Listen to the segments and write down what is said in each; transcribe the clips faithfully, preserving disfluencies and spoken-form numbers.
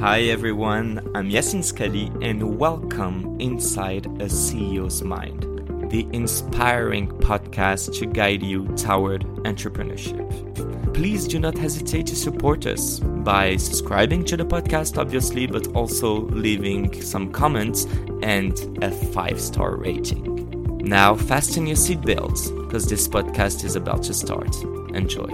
Hi everyone, I'm Yasin Skali and welcome inside a C E O's Mind, the inspiring podcast to guide you toward entrepreneurship. Please do not hesitate to support us by subscribing to the podcast, obviously, but also leaving some comments and a five-star rating. Now fasten your seatbelts because this podcast is about to start. Enjoy.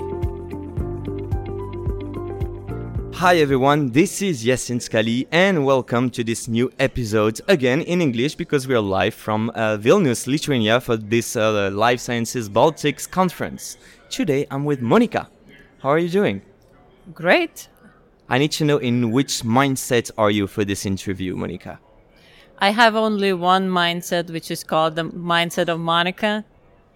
Hi everyone, this is Yasin Skali and welcome to this new episode, again in English because we are live from uh, Vilnius, Lithuania for this uh, Life Sciences Baltics conference. Today I'm with Monica. How are you doing? Great. I need to know in which mindset are you for this interview, Monica? I have only one mindset, which is called the mindset of Monica.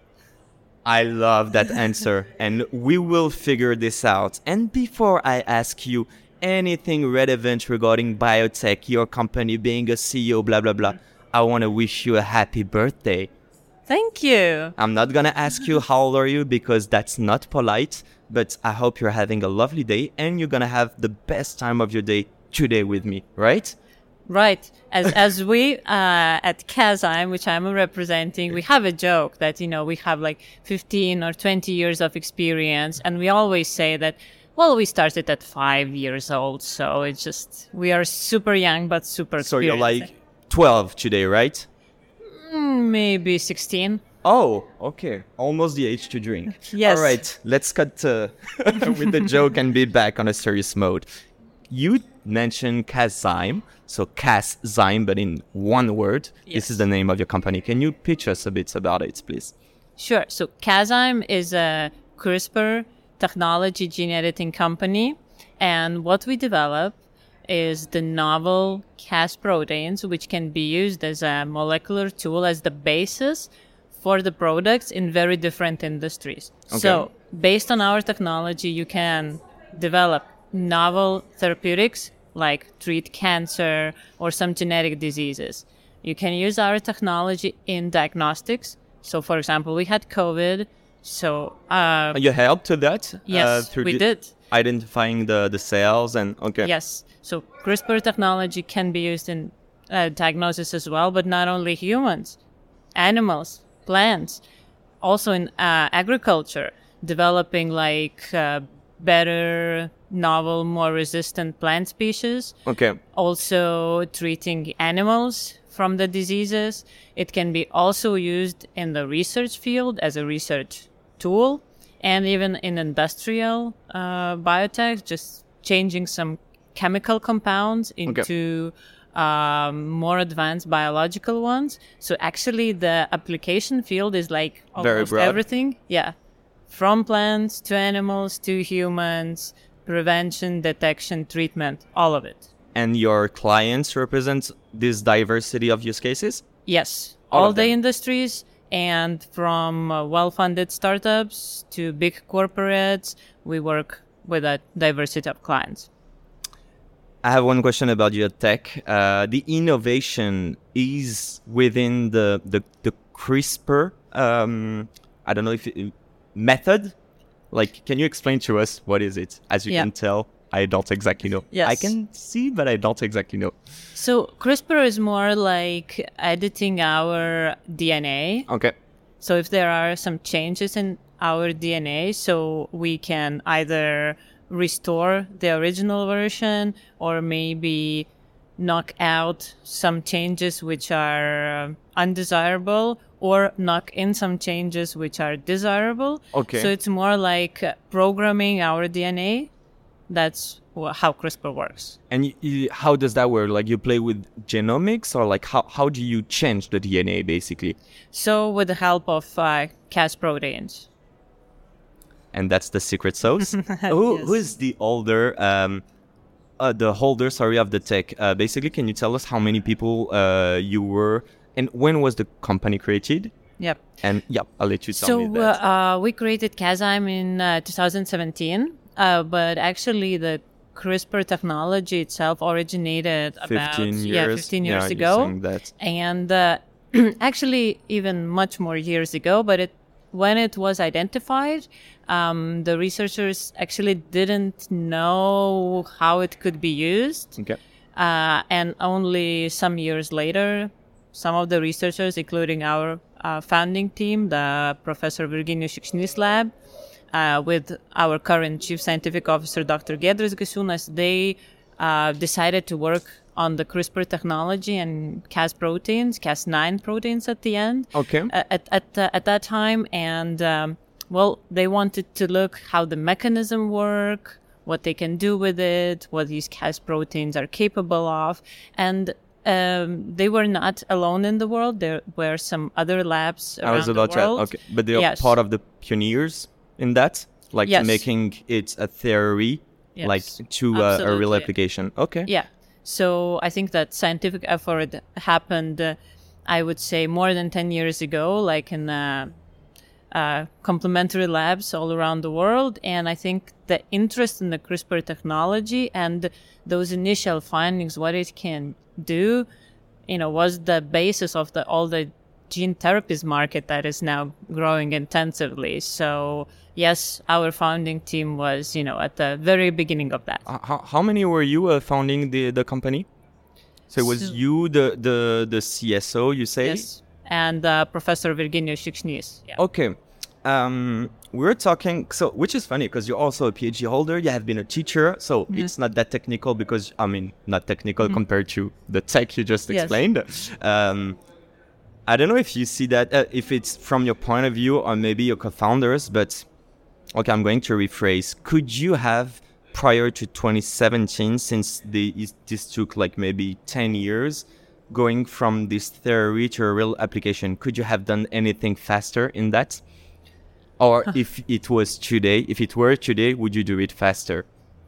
I love that answer, and we will figure this out. And before I ask you anything relevant regarding biotech, your company being a C E O, blah, blah, blah, I want to wish you a happy birthday. Thank you. I'm not going to ask you how old are you because that's not polite, but I hope you're having a lovely day and you're going to have the best time of your day today with me, right? Right. As as we uh, at Kazime, which I'm representing, we have a joke that, you know, we have like fifteen or twenty years of experience. And we always say that, well, we started at five years old. So it's just, we are super young, but super experienced. So you're like twelve today, right? Mm, maybe sixteen. Oh, okay. Almost the age to drink. Yes. All right. Let's cut uh, with the joke and be back on a serious mode. You mentioned Kazime, so Kazime, but in one word. Yes. This is the name of your company. Can you pitch us a bit about it, please? Sure. So Kazime is a CRISPR technology gene editing company. And what we develop is the novel Cas proteins, which can be used as a molecular tool as the basis for the products in very different industries. Okay. So based on our technology, you can develop novel therapeutics like treat cancer or some genetic diseases. You can use our technology in diagnostics. So, for example, we had COVID. So, uh, you helped to that? Yes, uh, through we the did. Identifying the, the cells and okay. Yes. So, CRISPR technology can be used in uh, diagnosis as well, but not only humans, animals, plants, also in uh, agriculture, developing like uh, better, novel, more resistant plant species. Okay. Also treating animals from the diseases. It can be also used in the research field as a research tool and even in industrial uh, biotech, just changing some chemical compounds into okay. um, more advanced biological ones. So actually the application field is like almost everything. Yeah. From plants to animals to humans, prevention, detection, treatment, all of it. And your clients represent this diversity of use cases? Yes, all, all the industries, and from uh, well-funded startups to big corporates, we work with a diversity of clients. I have one question about your tech. Uh, the innovation is within the, the, the CRISPR, um, I don't know if it, method? Like, can you explain to us what is it? As you yeah. can tell, I don't exactly know. Yes. I can see, but I don't exactly know. So CRISPR is more like editing our D N A. Okay. So if there are some changes in our D N A, so we can either restore the original version or maybe knock out some changes which are undesirable or knock in some changes which are desirable. Okay. So it's more like programming our D N A. That's how CRISPR works. And you, you, how does that work? Like you play with genomics or like how, how do you change the D N A basically? So with the help of uh, Cas proteins. And that's the secret sauce? who, yes. who is the older... Um, Uh, the holder, sorry, of the tech. Uh, basically, can you tell us how many people uh, you were and when was the company created? Yep. And yep, I'll let you tell so, me that. So uh, we created Kazime in uh, two thousand seventeen, uh, but actually the CRISPR technology itself originated about fifteen years, yeah, fifteen years yeah, ago. That. And uh, actually even much more years ago, but it when it was identified, um, the researchers actually didn't know how it could be used. Okay. Uh, and only some years later, some of the researchers, including our uh, founding team, the Professor Virginijus Šikšnys lab, uh, with our current Chief Scientific Officer, Doctor Giedrius Gasiūnas, they uh, decided to work on the CRISPR technology and Cas proteins, Cas nine proteins at the end. Okay. Uh, at at uh, at that time, and um, well, they wanted to look how the mechanism work, what they can do with it, what these Cas proteins are capable of, and um, they were not alone in the world. There were some other labs around I was about the world. to. Okay, but they are Yes. part of the pioneers in that, like Yes. making it a theory, Yes. like to uh, a real Absolutely. application. Okay. Yeah. So I think that scientific effort happened, uh, I would say, more than ten years ago, like in uh, uh, complementary labs all around the world. And I think the interest in the CRISPR technology and those initial findings, what it can do, you know, was the basis of the all the gene therapies market that is now growing intensively. So yes, our founding team was, you know, at the very beginning of that. Uh, How, how many were you uh, founding the, the company? So it was So- you, the, the, the C S O, you say? Yes, and uh, Professor Virginijus Šikšnys. Yeah. Okay. Um, we were talking, so which is funny because you're also a PhD holder. You have been a teacher, so Mm-hmm. it's not that technical because, I mean, not technical compared to the tech you just Yes. explained. Um, I don't know if you see that, uh, if it's from your point of view or maybe your co-founders, but okay, I'm going to rephrase. Could you have, prior to twenty seventeen, since the, is- this took like maybe ten years, going from this theory to a real application, could you have done anything faster in that? Or if it was today, if it were today, would you do it faster?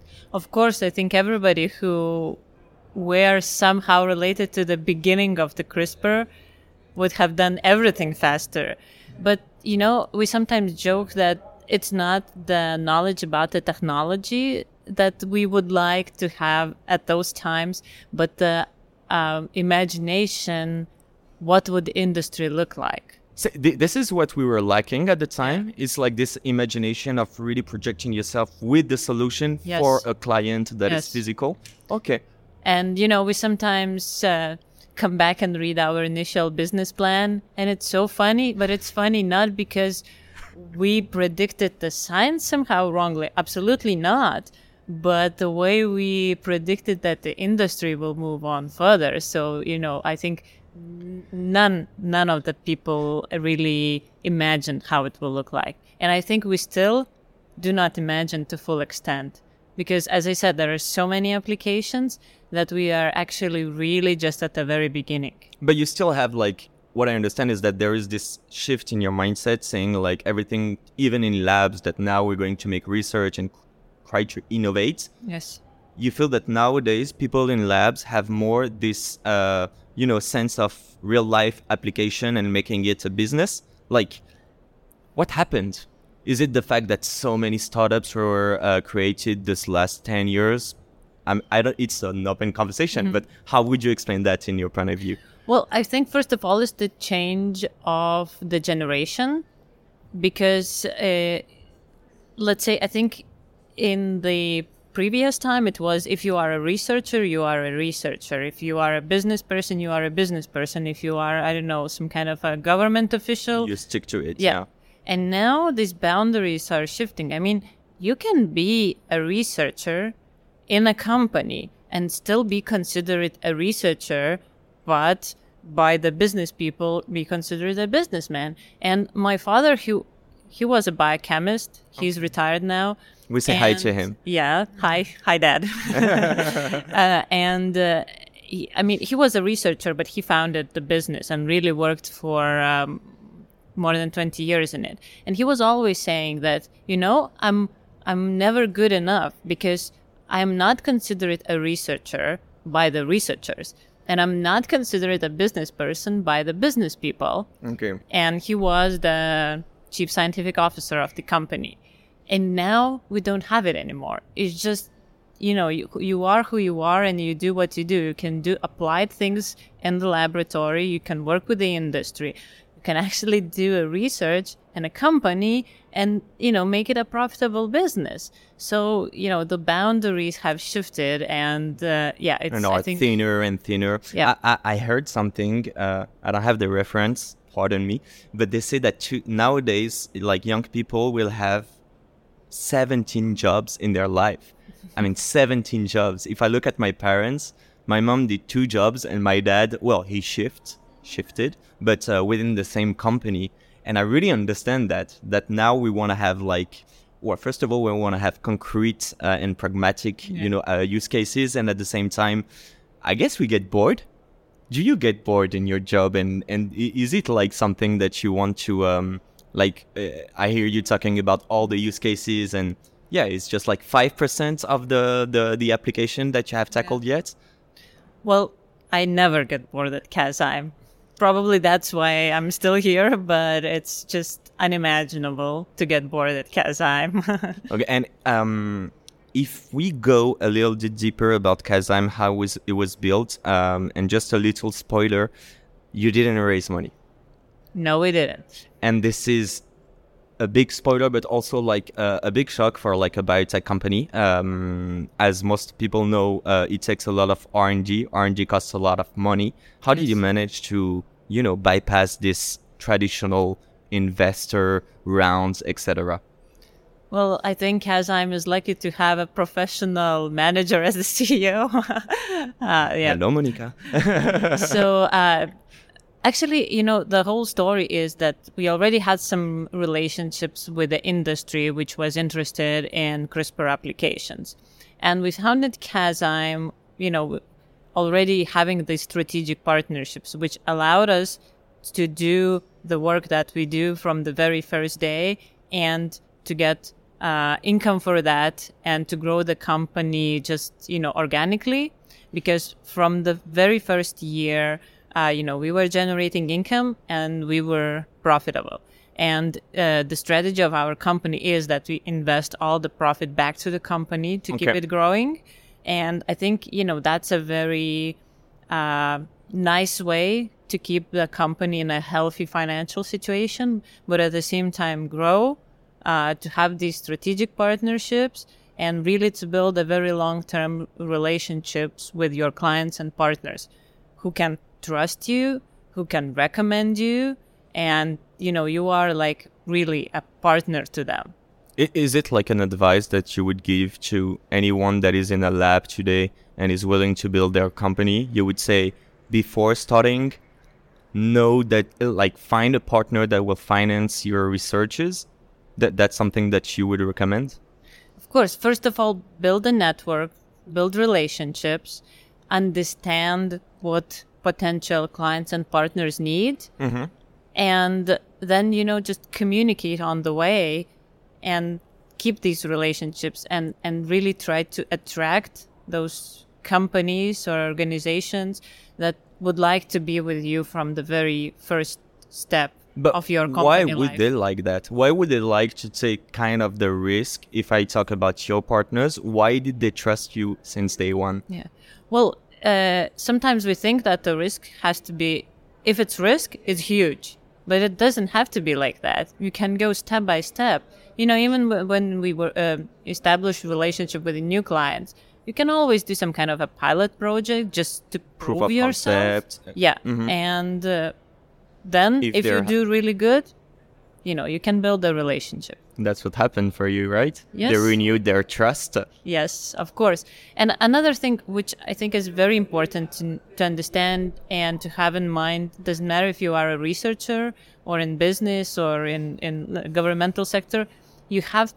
Of course, I think everybody who were somehow related to the beginning of the CRISPR would have done everything faster. But, you know, we sometimes joke that it's not the knowledge about the technology that we would like to have at those times, but the um, imagination, what would industry look like? So th- this is what we were lacking at the time. It's like this imagination of really projecting yourself with the solution Yes. for a client that is Yes. physical. Okay. And, you know, we sometimes uh, come back and read our initial business plan, and it's so funny, but it's funny not because we predicted the science somehow wrongly. Absolutely not. But the way we predicted that the industry will move on further. So, you know, I think n- none none of the people really imagined how it will look like. And I think we still do not imagine to full extent. Because, as I said, there are so many applications that we are actually really just at the very beginning. But you still have like, what I understand is that there is this shift in your mindset saying like everything, even in labs, that now we're going to make research and try to innovate. Yes. You feel that nowadays people in labs have more this, uh, you know, sense of real life application and making it a business. Like, what happened? Is it the fact that so many startups were uh, created this last ten years? I'm, I don't. It's an open conversation, Mm-hmm. but how would you explain that in your point of view? Well, I think first of all is the change of the generation, because uh, let's say I think in the previous time it was if you are a researcher, you are a researcher. If you are a business person, you are a business person. If you are, I don't know, some kind of a government official, You stick to it. yeah. And now these boundaries are shifting. I mean, you can be a researcher in a company and still be considered a researcher, but by the business people be considered a businessman. And my father, he, he was a biochemist. He's retired now. We say hi to And- him. Yeah. Hi. Hi, Dad. uh, and uh, he, I mean, he was a researcher, but he founded the business and really worked for um, more than twenty years in it. And he was always saying that, you know, I'm I'm never good enough because I'm not considered a researcher by the researchers, and I'm not considered a business person by the business people. Okay. And he was the chief scientific officer of the company. And now we don't have it anymore. It's just, you know, you, you are who you are and you do what you do. You can do applied things in the laboratory. You can work with the industry. You can actually do a research and a company and, you know, make it a profitable business. So, you know, the boundaries have shifted and, uh, yeah, it's and I are think, thinner and thinner. Yeah. I, I, I heard something, uh, I don't have the reference, pardon me, but they say that to, nowadays, like young people will have seventeen jobs in their life. I mean, seventeen jobs. If I look at my parents, my mom did two jobs and my dad, well, he shift, shifted, but uh, within the same company. And I really understand that, that now we want to have like, well, first of all, we want to have concrete uh, and pragmatic, Yeah. you know, uh, use cases. And at the same time, I guess we get bored. Do you get bored in your job? And, and i- is it like something that you want to, um, like, uh, I hear you talking about all the use cases and yeah, it's just like five percent of the, the, the application that you have tackled yet? well, I never get bored at Kazime. Probably that's why I'm still here, but it's just unimaginable to get bored at Kazime. Okay, and um, if we go a little bit deeper about Kazime, how was it was built, um, and just a little spoiler, you didn't raise money, No, we didn't. and this is a big spoiler, but also like uh, a big shock for like a biotech company. Um, as most people know, uh, it takes a lot of R and D. R and D costs a lot of money. How did you manage to, you know, bypass this traditional investor rounds, et cetera? Well, I think Kazime is lucky to have a professional manager as the C E O. uh, yeah. Hello, Monica. So, uh, actually, you know, the whole story is that we already had some relationships with the industry, which was interested in CRISPR applications. And we founded Kazime, you know, already having these strategic partnerships, which allowed us to do the work that we do from the very first day and to get uh, income for that and to grow the company just, you know, organically. Because from the very first year, uh, you know, we were generating income and we were profitable. And uh, the strategy of our company is that we invest all the profit back to the company to keep Okay. it growing. And I think, you know, that's a very uh, nice way to keep the company in a healthy financial situation, but at the same time grow, uh, to have these strategic partnerships and really to build a very long-term relationships with your clients and partners who can trust you, who can recommend you, and, you know, you are like really a partner to them. I- Is it like an advice that you would give to anyone that is in a lab today and is willing to build their company? You would say before starting, know that uh, like find a partner that will finance your researches. That that's something that you would recommend? Of course, first of all, build a network, build relationships, understand what potential clients and partners need, Mm-hmm. and then, you know, just communicate on the way and keep these relationships and, and really try to attract those companies or organizations that would like to be with you from the very first step But of your company why would life. they like that? Why would they like to take kind of the risk? If I talk about your partners, why did they trust you since day one? Yeah. Well, uh, sometimes we think that the risk has to be, if it's risk, it's huge. But it doesn't have to be like that. You can go step by step. You know, even w- when we were uh, established relationship with the new clients, you can always do some kind of a pilot project just to Proof prove of yourself. concept. Yeah. Mhm. And uh, then If if, you they're- do really good, you know, you can build a relationship. That's what happened for you, right? Yes. They renewed their trust. Yes, of course. And another thing which I think is very important to, to understand and to have in mind, doesn't matter if you are a researcher or in business or in, in the governmental sector, you have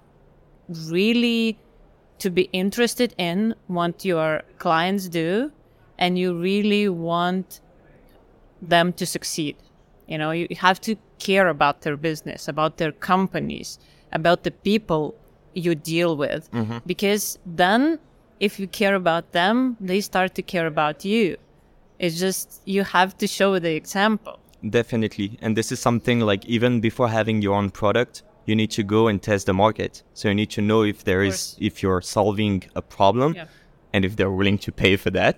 really to be interested in what your clients do, and you really want them to succeed. You know, you have to care about their business, about their companies, about the people you deal with. Because then if you care about them, they start to care about you. It's just, you have to show the example. Definitely. And this is something like even before having your own product, you need to go and test the market. So you need to know if there is, course. if you're solving a problem Yeah. and if they're willing to pay for that. Of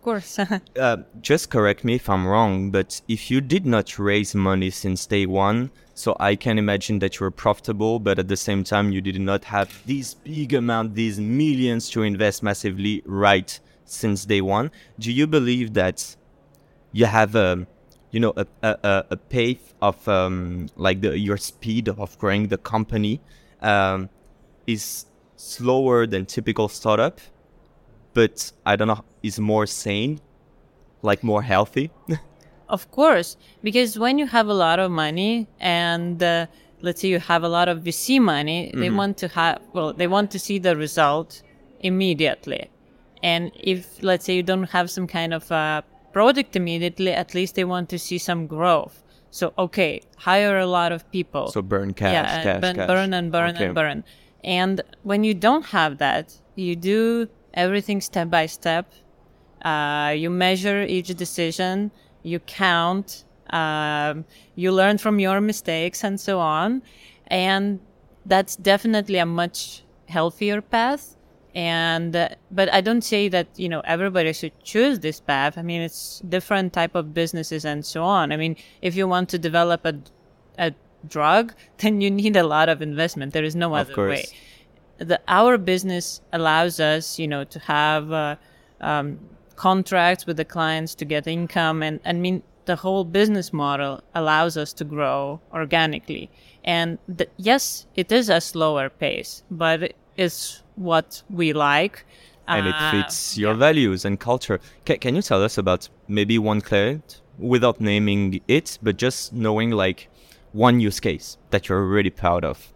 course. uh, just correct me if I'm wrong, but if you did not raise money since day one, so I can imagine that you're profitable, but at the same time, you did not have this big amount, these millions to invest massively right since day one. Do you believe that you have a, you know, a a, a pace of um, like the your speed of growing the company um, is slower than typical startup, but I don't know, is more sane, like more healthy? Of course, because when you have a lot of money and uh, let's say you have a lot of V C money, mm-hmm. they want to have, well, they want to see the result immediately. And if, let's say, you don't have some kind of uh, product immediately, at least they want to see some growth. So, okay, hire a lot of people. So burn cash, yeah, cash, burn, cash. burn and burn okay. and burn. And when you don't have that, you do everything step by step. Uh, you measure each decision. You count, um, you learn from your mistakes and so on. And that's definitely a much healthier path. And, uh, but I don't say that, you know, everybody should choose this path. I mean, it's different type of businesses and so on. I mean, if you want to develop a, a drug, then you need a lot of investment. There is no other way. The, our business allows us, you know, to have, uh, um, contracts with the clients to get income, and I mean the whole business model allows us to grow organically. And the, yes, it is a slower pace, but it's what we like, and uh, it fits your yeah. values and culture. Can, can you tell us about maybe one client without naming it, but just knowing like one use case that you're really proud of?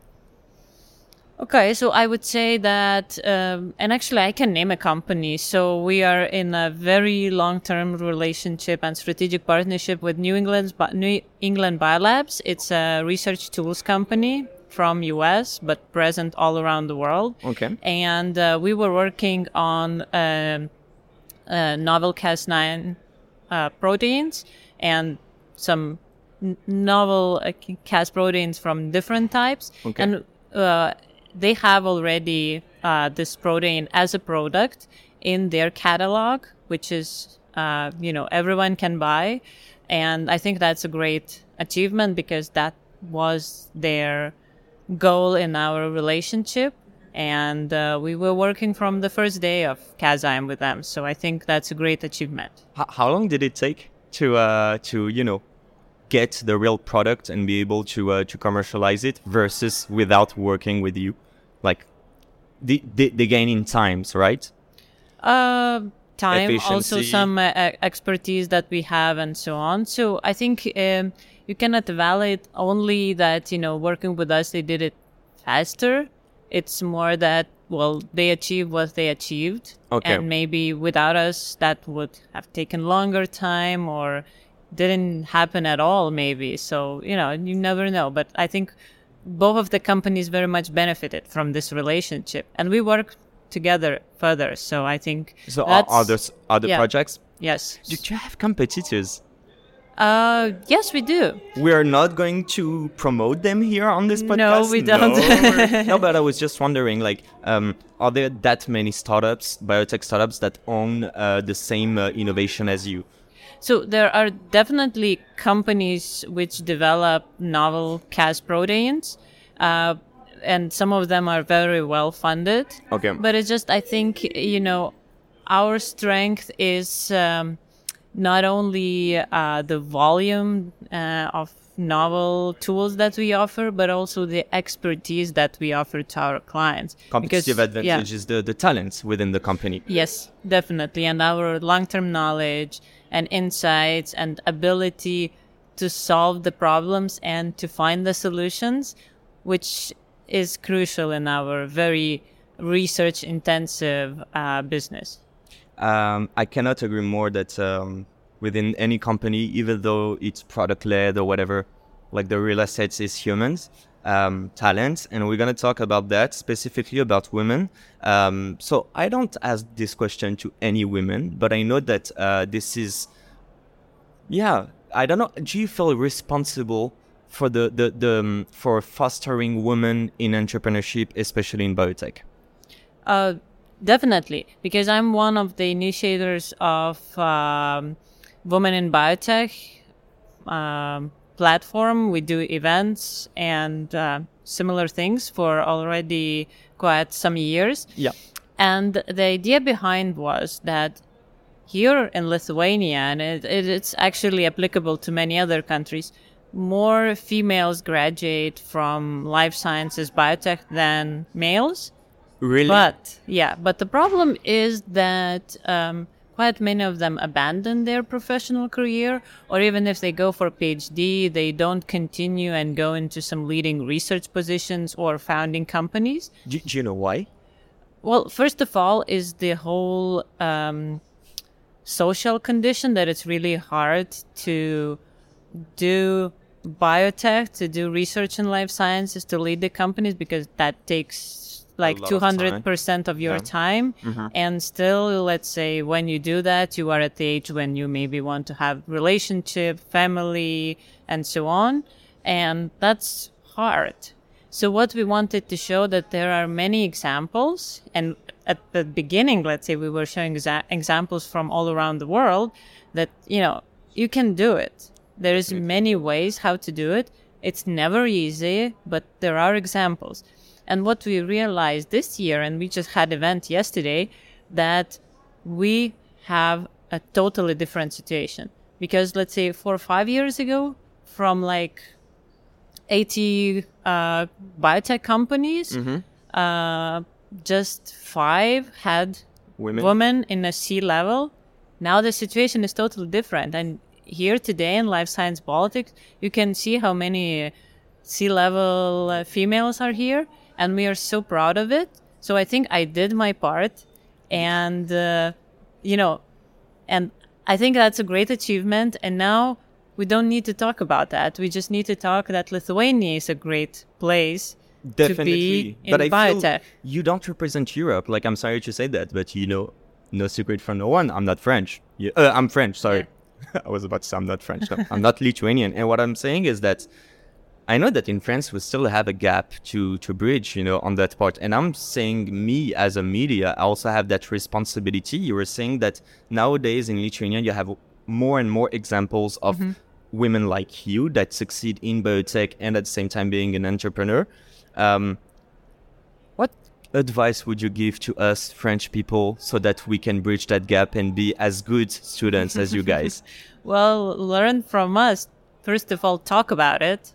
Okay, so I would say that, um, and actually I can name a company. So we are in a very long-term relationship and strategic partnership with New England, New England Biolabs. It's a research tools company from U S, but present all around the world. Okay. And uh, we were working on um, uh, novel Cas nine uh, proteins and some n- novel uh, Cas proteins from different types. Okay. And uh, they have already uh, this protein as a product in their catalog, which is, uh, you know, everyone can buy. And I think that's a great achievement because that was their goal in our relationship. And uh, we were working from the first day of Cazyme with them. So I think that's a great achievement. H- how long did it take to, uh, to you know, get the real product and be able to uh, to commercialize it versus without working with you? Like, the, the, the gain in times, right? Uh, time, Efficiency. Also some uh, expertise that we have and so on. So I think um, you cannot validate only that, you know, working with us, they did it faster. It's more that, well, they achieved what they achieved. Okay. And maybe without us, that would have taken longer time or didn't happen at all, maybe. So, you know, you never know. But I think both of the companies very much benefited from this relationship, and we work together further. So I think so. That's, Are there other yeah. projects? Yes. Do you have competitors? Uh, yes, we do. We are not going to promote them here on this podcast. No, we don't. No, no, but I was just wondering, like, um, are there that many startups, biotech startups, that own uh, the same uh, innovation as you? So there are definitely companies which develop novel Cas proteins, uh, and some of them are very well funded. Okay. But it's just, I think, you know, our strength is um, not only uh, the volume uh, of novel tools that we offer, but also the expertise that we offer to our clients. Competitive because, advantage yeah. is the, the talents within the company. Yes, definitely. And our long-term knowledge and insights and ability to solve the problems and to find the solutions, which is crucial in our very research-intensive uh, business. Um, I cannot agree more that um, within any company, even though it's product-led or whatever, like the real assets is humans, um, talent, and we're going to talk about that, specifically about women. Um, so I don't ask this question to any women, but I know that uh, this is, yeah, I don't know, do you feel responsible for the, the, the um, for fostering women in entrepreneurship, especially in biotech? Uh, Definitely, because I'm one of the initiators of um, Women in Biotech um, platform. We do events and uh, similar things for already quite some years. Yeah. And the idea behind was that here in Lithuania, and it, it, it's actually applicable to many other countries, more females graduate from life sciences biotech than males. Really? But yeah, but the problem is that um, quite many of them abandon their professional career, or even if they go for a PhD, they don't continue and go into some leading research positions or founding companies. Do, do you know why? Well, first of all, is the whole um, social condition that it's really hard to do biotech, to do research in life sciences, to lead the companies, because that takes like two hundred percent of your Yeah. time. Mhm. And still, let's say when you do that, you are at the age when you maybe want to have relationship, family, and so on. And that's hard. So what we wanted to show that there are many examples, and at the beginning, let's say we were showing exa- examples from all around the world that, you know, you can do it. There is many ways how to do it. It's never easy, but there are examples. And what we realized this year, and we just had event yesterday, that we have a totally different situation. Because let's say four or five years ago, from like eighty uh, biotech companies, Mm-hmm. uh, just five had Women? women in a C level. Now the situation is totally different. And here today in life science politics, you can see how many C level uh, females are here. And we are so proud of it. So I think I did my part. And, uh, you know, and I think that's a great achievement. And now we don't need to talk about that. We just need to talk that Lithuania is a great place Definitely. to be in but I biotech. feel you don't represent Europe. Like, I'm sorry to say that, but you know, no secret from no one. I'm not French. You, uh, I'm French, sorry. Yeah. I was about to say I'm not French. No, I'm not Lithuanian. And what I'm saying is that I know that in France, we still have a gap to, to bridge, you know, on that part. And I'm saying me as a media, I also have that responsibility. You were saying that nowadays in Lithuania, you have more and more examples of mm-hmm. women like you that succeed in biotech and at the same time being an entrepreneur. Um, what advice would you give to us French people so that we can bridge that gap and be as good students as you guys? Well, learn from us. First of all, talk about it.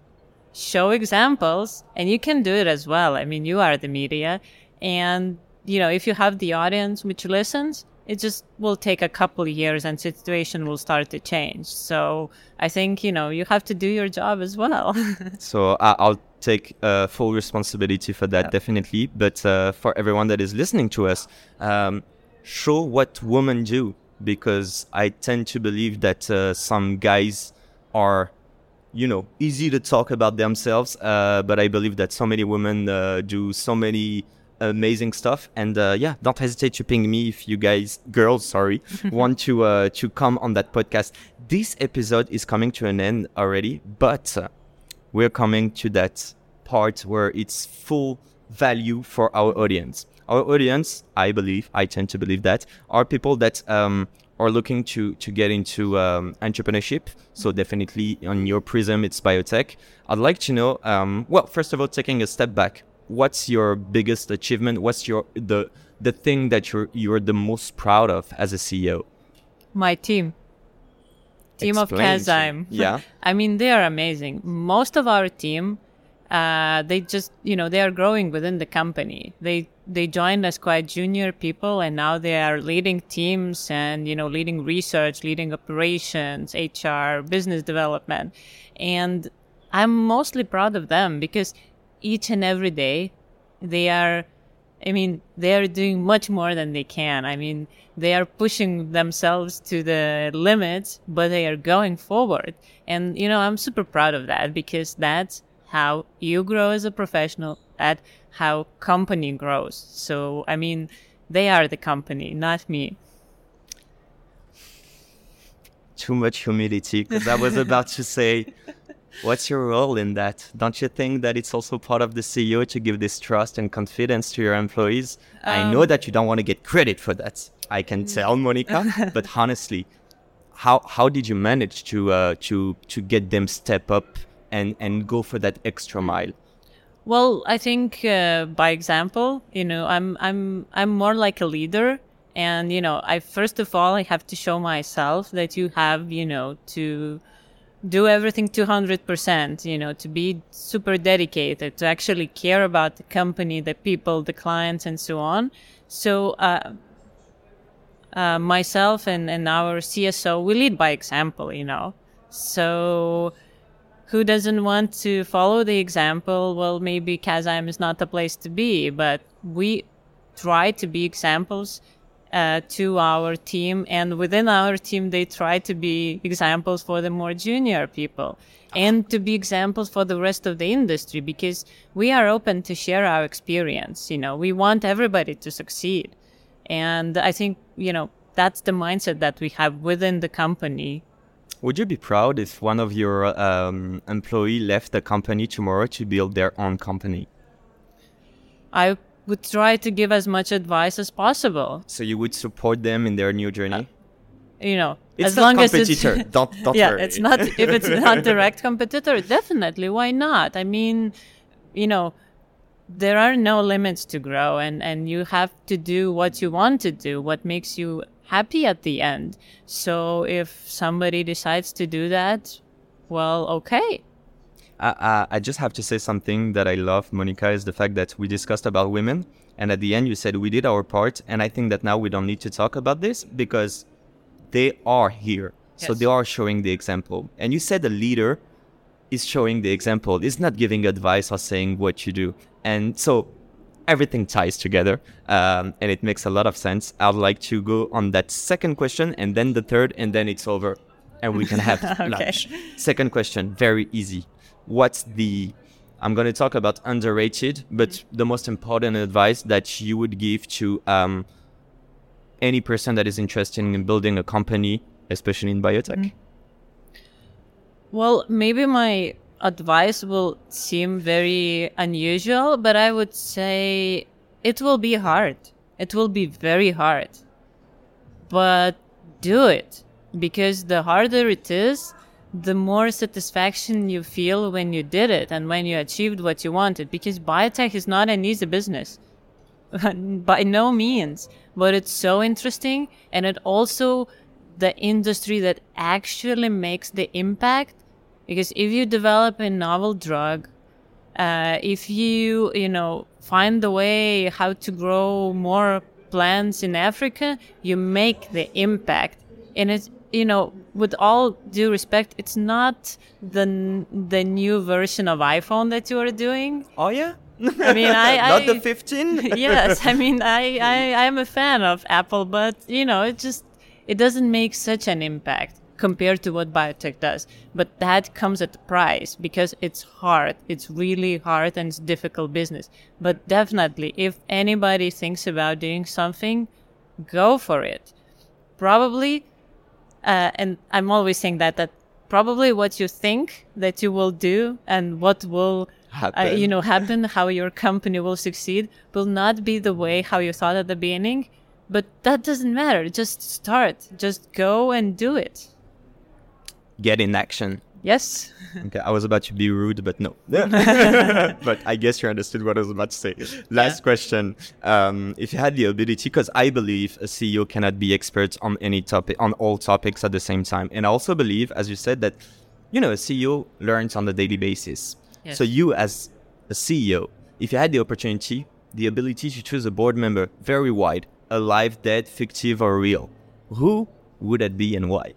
Show examples, and you can do it as well. I mean, you are the media, and, you know, if you have the audience which listens, it just will take a couple of years and situation will start to change. So I think, you know, you have to do your job as well. So uh, I'll take uh, full responsibility for that, yeah. Definitely. But uh, for everyone that is listening to us, um, show what women do, because I tend to believe that uh, some guys are, you know, easy to talk about themselves, uh, but I believe that so many women uh, do so many amazing stuff. And uh, yeah, don't hesitate to ping me if you guys, girls, sorry, want to uh, to come on that podcast. This episode is coming to an end already, but uh, we're coming to that part where it's full value for our audience. Our audience, I believe, I tend to believe that, are people that um, are looking to to get into um, entrepreneurship. So definitely on your prism, it's biotech. I'd like to know, um, well, first of all, taking a step back, what's your biggest achievement? What's your the the thing that you're you're the most proud of as a C E O? My team. Team Explain of Kazyme. Yeah. I mean, they are amazing. Most of our team, uh, they just, you know, they are growing within the company. They they joined as quite junior people, and now they are leading teams and, you know, leading research, leading operations, H R, business development. And I'm mostly proud of them because each and every day they are, I mean, they are doing much more than they can. I mean, they are pushing themselves to the limits, but they are going forward. And, you know, I'm super proud of that because that's how you grow as a professional, at how company grows. So, I mean, they are the company, not me. Too much humility, because I was about to say, What's your role in that? Don't you think that it's also part of the C E O to give this trust and confidence to your employees? Um, I know that you don't want to get credit for that. I can tell, Monica, but honestly, how how did you manage to uh, to to get them step up and, and go for that extra mile? Well, I think uh, by example, you know, I'm I'm I'm more like a leader, and you know, I first of all I have to show myself that you have, you know, to do everything two hundred percent, you know, to be super dedicated, to actually care about the company, the people, the clients, and so on. So uh, uh, myself and, and our C S O, we lead by example, you know. So who doesn't want to follow the example? Well, maybe Kazam is not the place to be, but we try to be examples Uh, to our team, and within our team they try to be examples for the more junior people and to be examples for the rest of the industry, because we are open to share our experience. You know, we want everybody to succeed, and I think, you know, that's the mindset that we have within the company. Would you be proud if one of your um, employee left the company tomorrow to build their own company? I would try to give as much advice as possible. So you would support them in their new journey? Uh, you know, it's as not long competitor. as it's don't don't yeah, worry. it's not if it's not direct competitor, definitely why not? I mean, you know, there are no limits to grow, and and you have to do what you want to do, what makes you happy at the end. So if somebody decides to do that, well, okay. I, I just have to say something that I love, Monica, is the fact that we discussed about women, and at the end you said we did our part, and I think that now we don't need to talk about this because they are here. Yes. So they are showing the example. And you said the leader is showing the example. It's not giving advice or saying what you do. And so everything ties together, um, and it makes a lot of sense. I'd like to go on that second question, and then the third, and then it's over, and we can have okay. lunch. Second question, very easy. What's the, I'm going to talk about underrated, but mm-hmm. the most important advice that you would give to um, any person that is interested in building a company, especially in biotech? Mm-hmm. Well, maybe my advice will seem very unusual, but I would say it will be hard. It will be very hard. But do it, because the harder it is, the more satisfaction you feel when you did it and when you achieved what you wanted. Because biotech is not an easy business, by no means, but it's so interesting, and it also the industry that actually makes the impact. Because if you develop a novel drug, uh, if you, you know, find the way how to grow more plants in Africa, you make the impact. And it's, you know, with all due respect, it's not the the new version of iPhone that you are doing. Oh yeah? I mean, I... not I, the fifteen? Yes, I mean, I, I, I am a fan of Apple, but, you know, it just, it doesn't make such an impact compared to what biotech does. But that comes at a price, because it's hard. It's really hard, and it's difficult business. But definitely, if anybody thinks about doing something, go for it. Probably... Uh, and I'm always saying that, that probably what you think that you will do and what will, uh, you know, happen, how your company will succeed, will not be the way how you thought at the beginning. But that doesn't matter. Just start. Just go and do it. Get in action. Yes. Okay, I was about to be rude, but no. But I guess you understood what I was about to say. Last yeah. question. Um, if you had the ability, because I believe a C E O cannot be expert on any topic, on all topics at the same time. And I also believe, as you said, that, you know, a C E O learns on a daily basis. Yes. So you as a C E O, if you had the opportunity, the ability to choose a board member, very wide, alive, dead, fictive, or real, who would that be and why?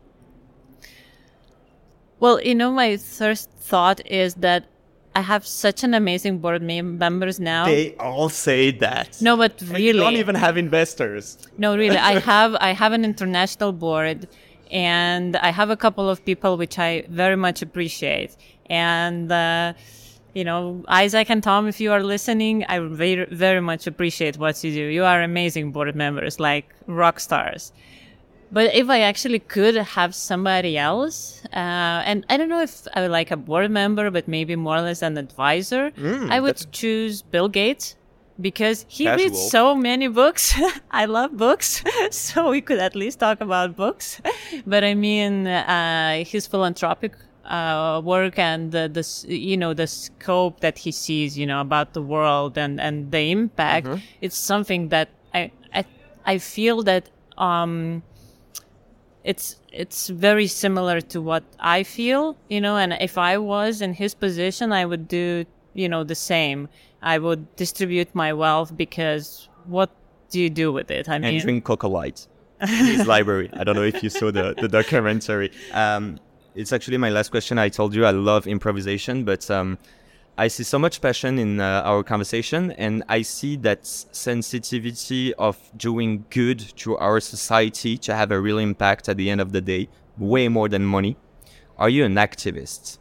Well, you know, my first thought is that I have such an amazing board mem- members now. They all say that. No, but really, you don't even have investors. No, really, I have I have an international board, and I have a couple of people which I very much appreciate. And uh, you know, Isaac and Tom, if you are listening, I very very much appreciate what you do. You are amazing board members, like rock stars. But if I actually could have somebody else, uh, and I don't know if I would like a board member, but maybe more or less an advisor, Mm, I would that's- choose Bill Gates because he Casual. reads so many books. I love books, so we could at least talk about books. But I mean, uh, his philanthropic uh, work and the, the s- you know the scope that he sees, you know, about the world and, and the impact. Mm-hmm. It's something that I I, I feel that. Um, It's it's very similar to what I feel, you know, and if I was in his position, I would do, you know, the same. I would distribute my wealth because what do you do with it? I And mean, drink Coca Light in his library. I don't know if you saw the, the documentary. Um, it's actually my last question. I told you I love improvisation, but um, I see so much passion in uh, our conversation, and I see that sensitivity of doing good to our society to have a real impact at the end of the day, way more than money. Are you an activist?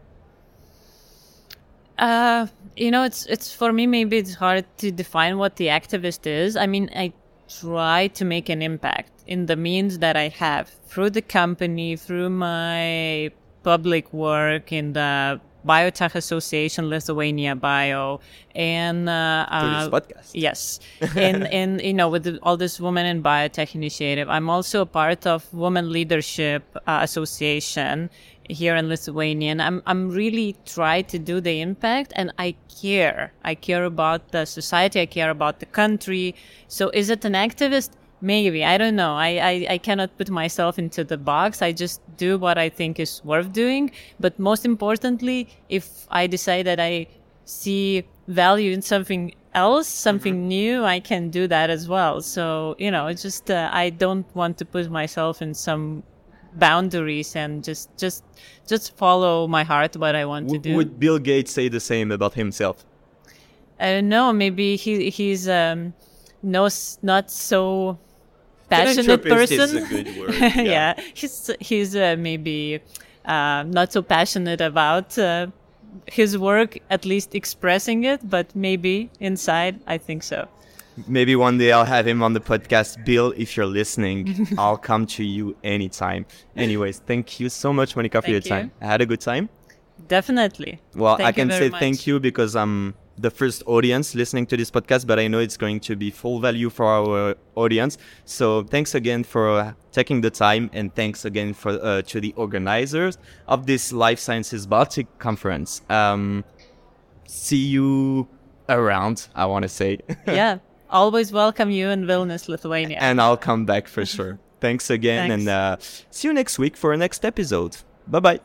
Uh, you know, it's it's for me. Maybe it's hard to define what the activist is. I mean, I try to make an impact in the means that I have through the company, through my public work in the Biotech Association Lithuania Bio, and uh, For this uh, podcast. yes, in in you know with the, all this Women in Biotech initiative. I'm also a part of Women Leadership uh, Association here in Lithuania, and I'm I'm really trying to do the impact, and I care. I care about the society. I care about the country. So is it an activist? Maybe. I don't know. I, I, I cannot put myself into the box. I just do what I think is worth doing. But most importantly, if I decide that I see value in something else, something mm-hmm. new, I can do that as well. So, you know, it's just, uh, I don't want to put myself in some boundaries and just, just, just follow my heart, what I want W- to do. Would Bill Gates say the same about himself? I don't know. Maybe he, he's, um, no, not so passionate Philanthropist person. is a good word. Yeah, yeah. he's he's uh, maybe uh, not so passionate about uh, his work, at least expressing it, but maybe inside, I think so. Maybe one day I'll have him on the podcast. Bill, if you're listening, I'll come to you anytime. Anyways, thank you so much, Monica, for Thank your you. time. I had a good time. Definitely. Well, Thank I you can very say much. thank you because I'm the first audience listening to this podcast, but I know it's going to be full value for our audience. So thanks again for uh, taking the time, and thanks again for uh, to the organizers of this Life Sciences Baltic conference. Um, see you around, I want to say. Yeah. Always welcome you in Vilnius, Lithuania. And I'll come back for sure. Thanks again, Thanks. and uh, see you next week for our next episode. Bye-bye.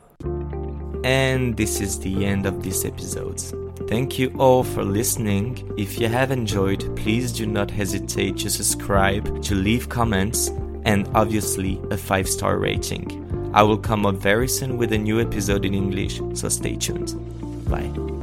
And this is the end of this episode. Thank you all for listening. If you have enjoyed, please do not hesitate to subscribe, to leave comments, and obviously a five-star rating. I will come up very soon with a new episode in English, so stay tuned. Bye.